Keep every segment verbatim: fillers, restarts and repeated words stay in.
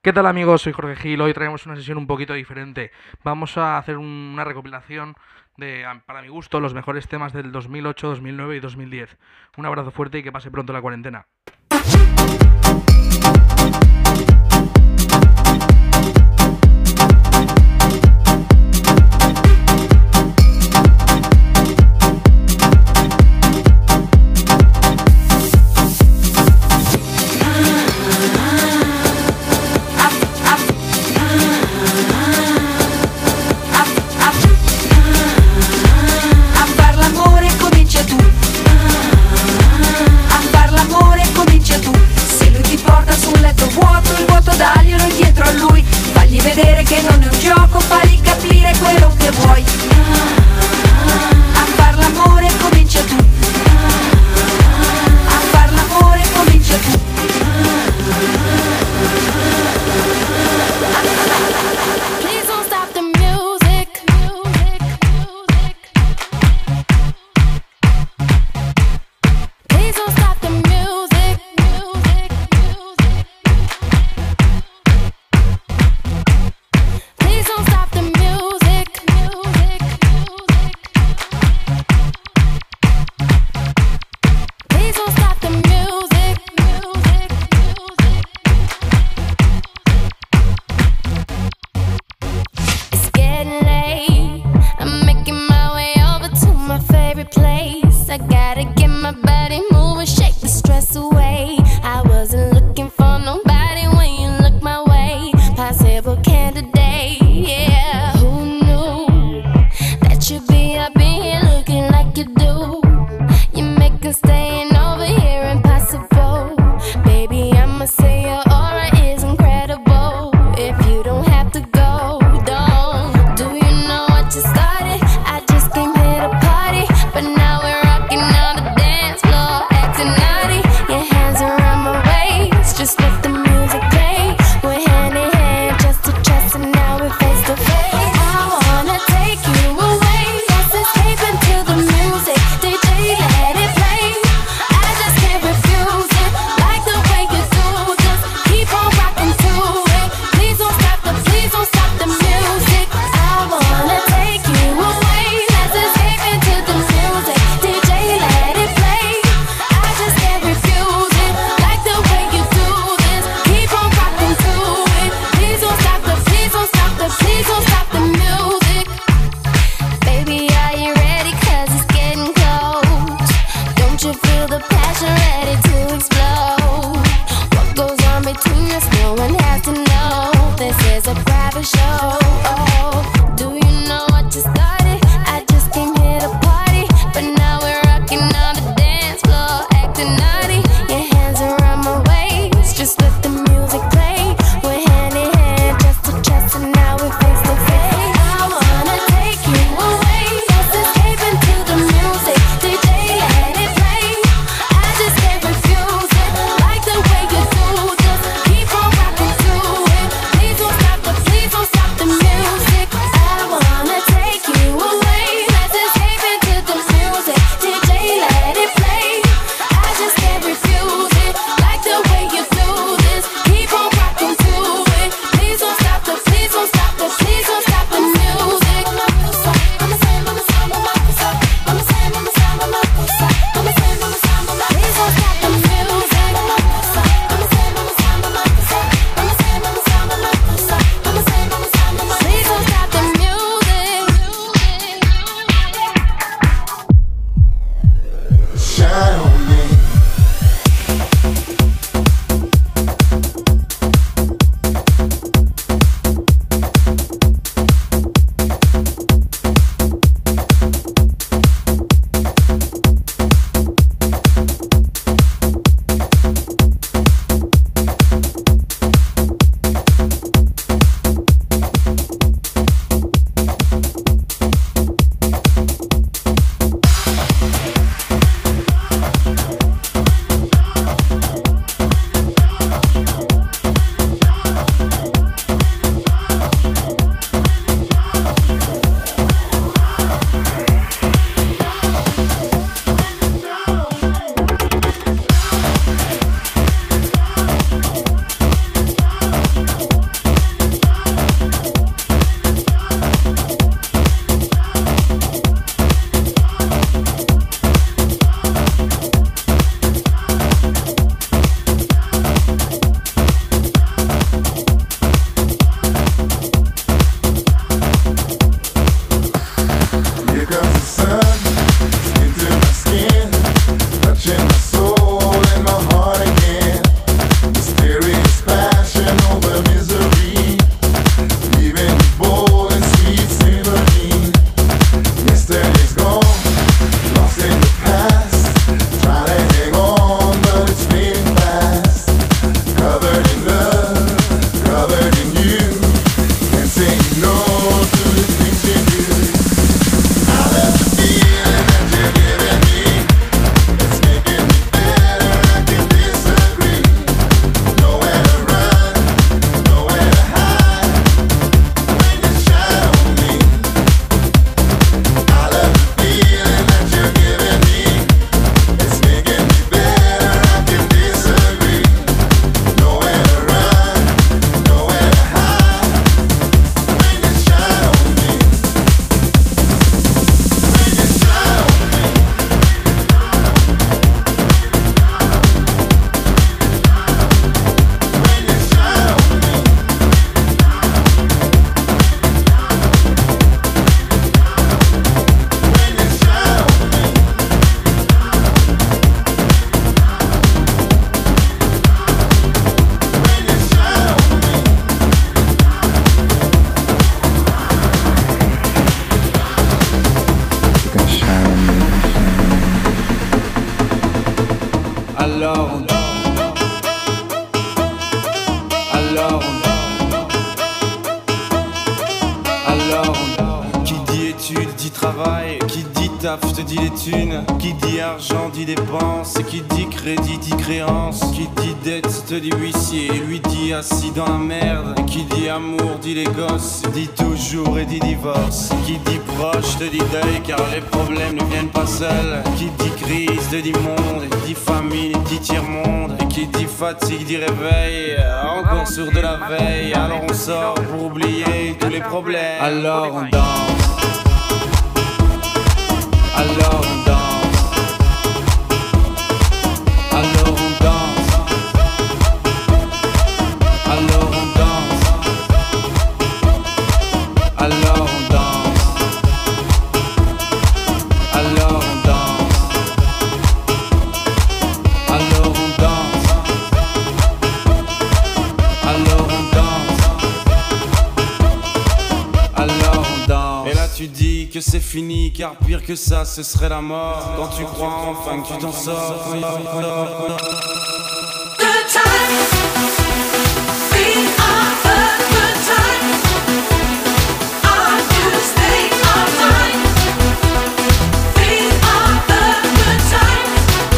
¿Qué tal amigos? Soy Jorge Gil. Hoy traemos una sesión un poquito diferente. Vamos a hacer una recopilación de, para mi gusto, los mejores temas del dos mil ocho, dos mil nueve y dos mil diez. Un abrazo fuerte y que pase pronto la cuarentena. Vedere che non è un gioco, fagli capire quello che vuoi. A far l'amore comincia tu. A far l'amore comincia tu. Please don't stop the music. Please don't stop the music. I gotta get my body moving, shake the stress away. I wasn't looking for nobody when you look my way. Possible candidate, yeah. Who knew that you'd be up in here looking like you do? You make us staying over here impossible. Baby, I'ma say your aura is incredible. If you don't have to go, don't. Do you know what you started? I just came here to party, but now we're on the dance floor, acting naughty. Your hands around my waist, just let the music play. We're hand in hand, just to trust, and now we're face to face. I wanna take you away, let's escape into the music. D J, let it play. I just can't refuse it, like the way you do. Just keep on rocking to it. Please don't stop the, please don't stop the music. I wanna take you away, let's escape into the music. D J, let it play. I just can't refuse it, like the way you do this. Keep on rocking to it. Please don't stop the, please don't stop the, please don't stop the music. Baby, are you ready? Cause it's getting close. Don't you feel the passion ready to explode? What goes on between us, no one has to know. This is a private show. Oh, do you know what you started? I just came here to party, but now we're rocking on the dance floor, acting naughty. Your hands around my waist, just let the music play. We're hand in hand, just to trust, and now we're face to face. I wanna take you away, let's escape into the music. D J, let it play. I just can't refuse it, like the way you do. Just keep on rocking to Alors Alors qui dit études dit travail, qui dit taf te dit les thunes, qui dit argent dit dépenses, qui dit crédit dit créance, qui dit dette te dit huissier, lui dit assis dans la merde, qui dit amour dit les gosses, dit toujours et dit divorce, qui dit proche te dit deuil car les problèmes ne viennent pas seuls, qui dit crise te dit monde, dit famine dit tiers-monde, et qui dit fatigue dit réveil, encore sur de la veille, alors on sort pour oublier tous les problèmes, alors on danse. Alors on danse, alors on danse, alors on danse, alors on danse, alors on danse, alors on danse, alors on danse, alors on danse. Et là tu dis que c'est fini car pire que ça ce serait la mort. Quand tu crois enfin que tu t'en sors. Good times, we are a good time. All I do is stay online. We are a good time.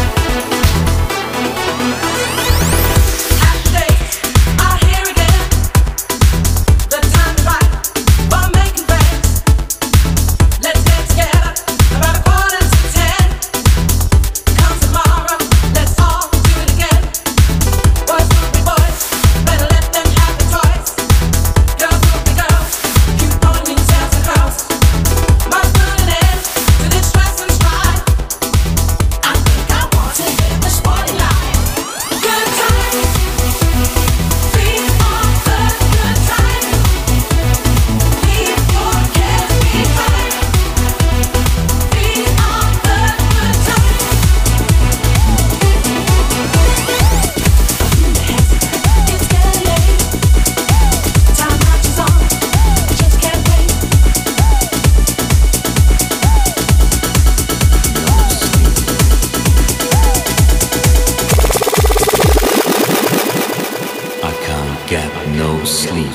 Happy days are here again. The time is right for making friends. Let's get together about a quarter to ten. Come tomorrow, let's all do it again. Boys will be boys, better let them have the choice. Girls will be girls, keep on yourselves across. Must put an end to this stress and strife. I think I want to live the sporty life. Good times, we are a good time. Leave your cares behind. We are a good time. It's getting late. Time marches on. Just can't wait. I can't get no sleep.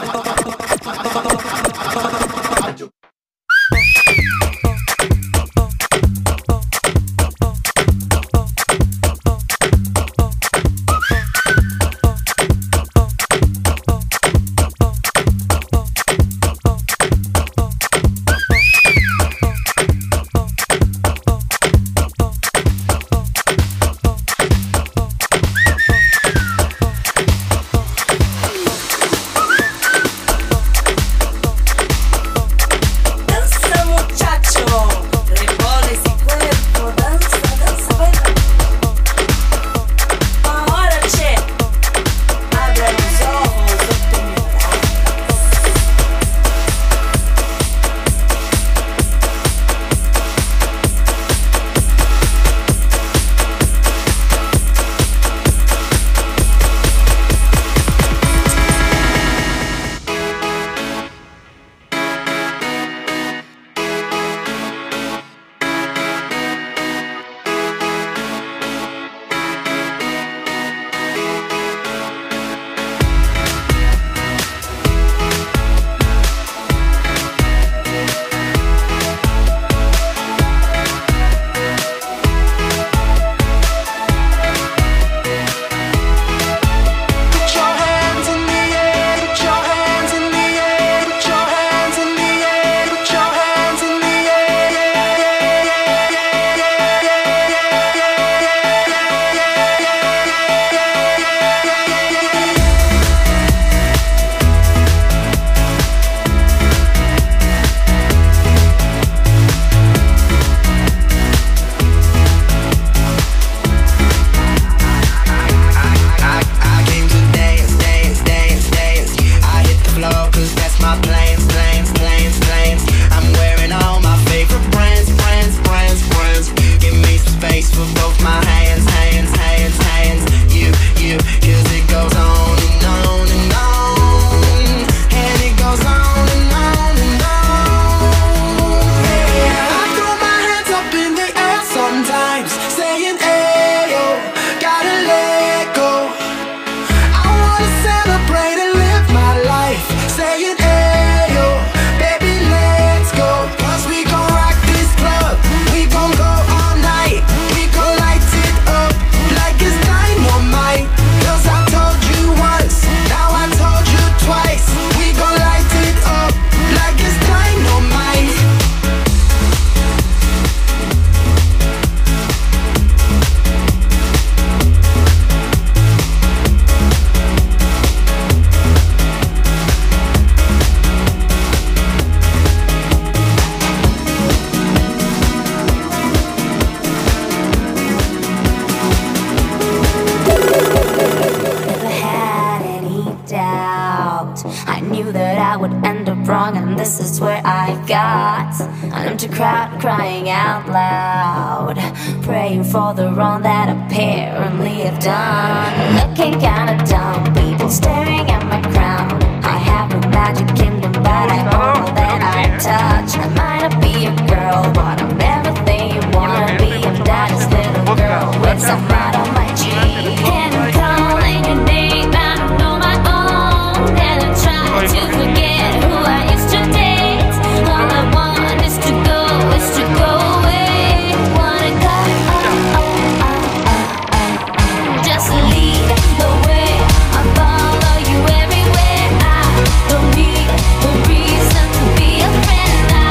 this is where I got an empty crowd crying out loud, praying for the wrong that apparently I've done. Looking kinda dumb, people staring at my crown. I have a magic kingdom, but I own more than I touch. I might not be a girl, but I'm everything you wanna be. I'm daddy's little girl with some mud on my cheek. And I'm calling your name, I don't know my own. And I try to forget who I used to date. All I want is to go, is to go away. Wanna go, oh, oh, oh, oh, oh. Just lead the way, I'll follow you everywhere. I don't need a reason to be a friend. I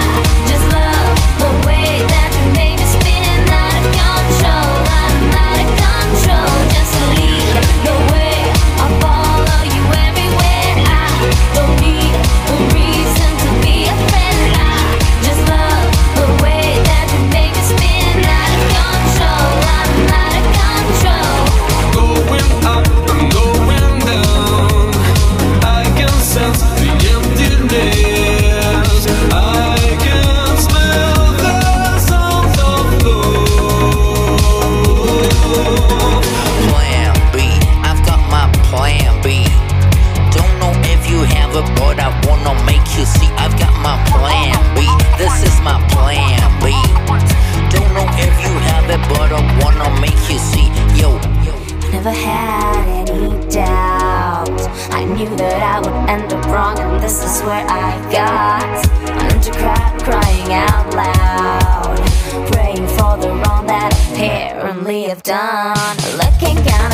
wrong, and this is where I got into crowd crying out loud, praying for the wrong that apparently I've done. Looking kinda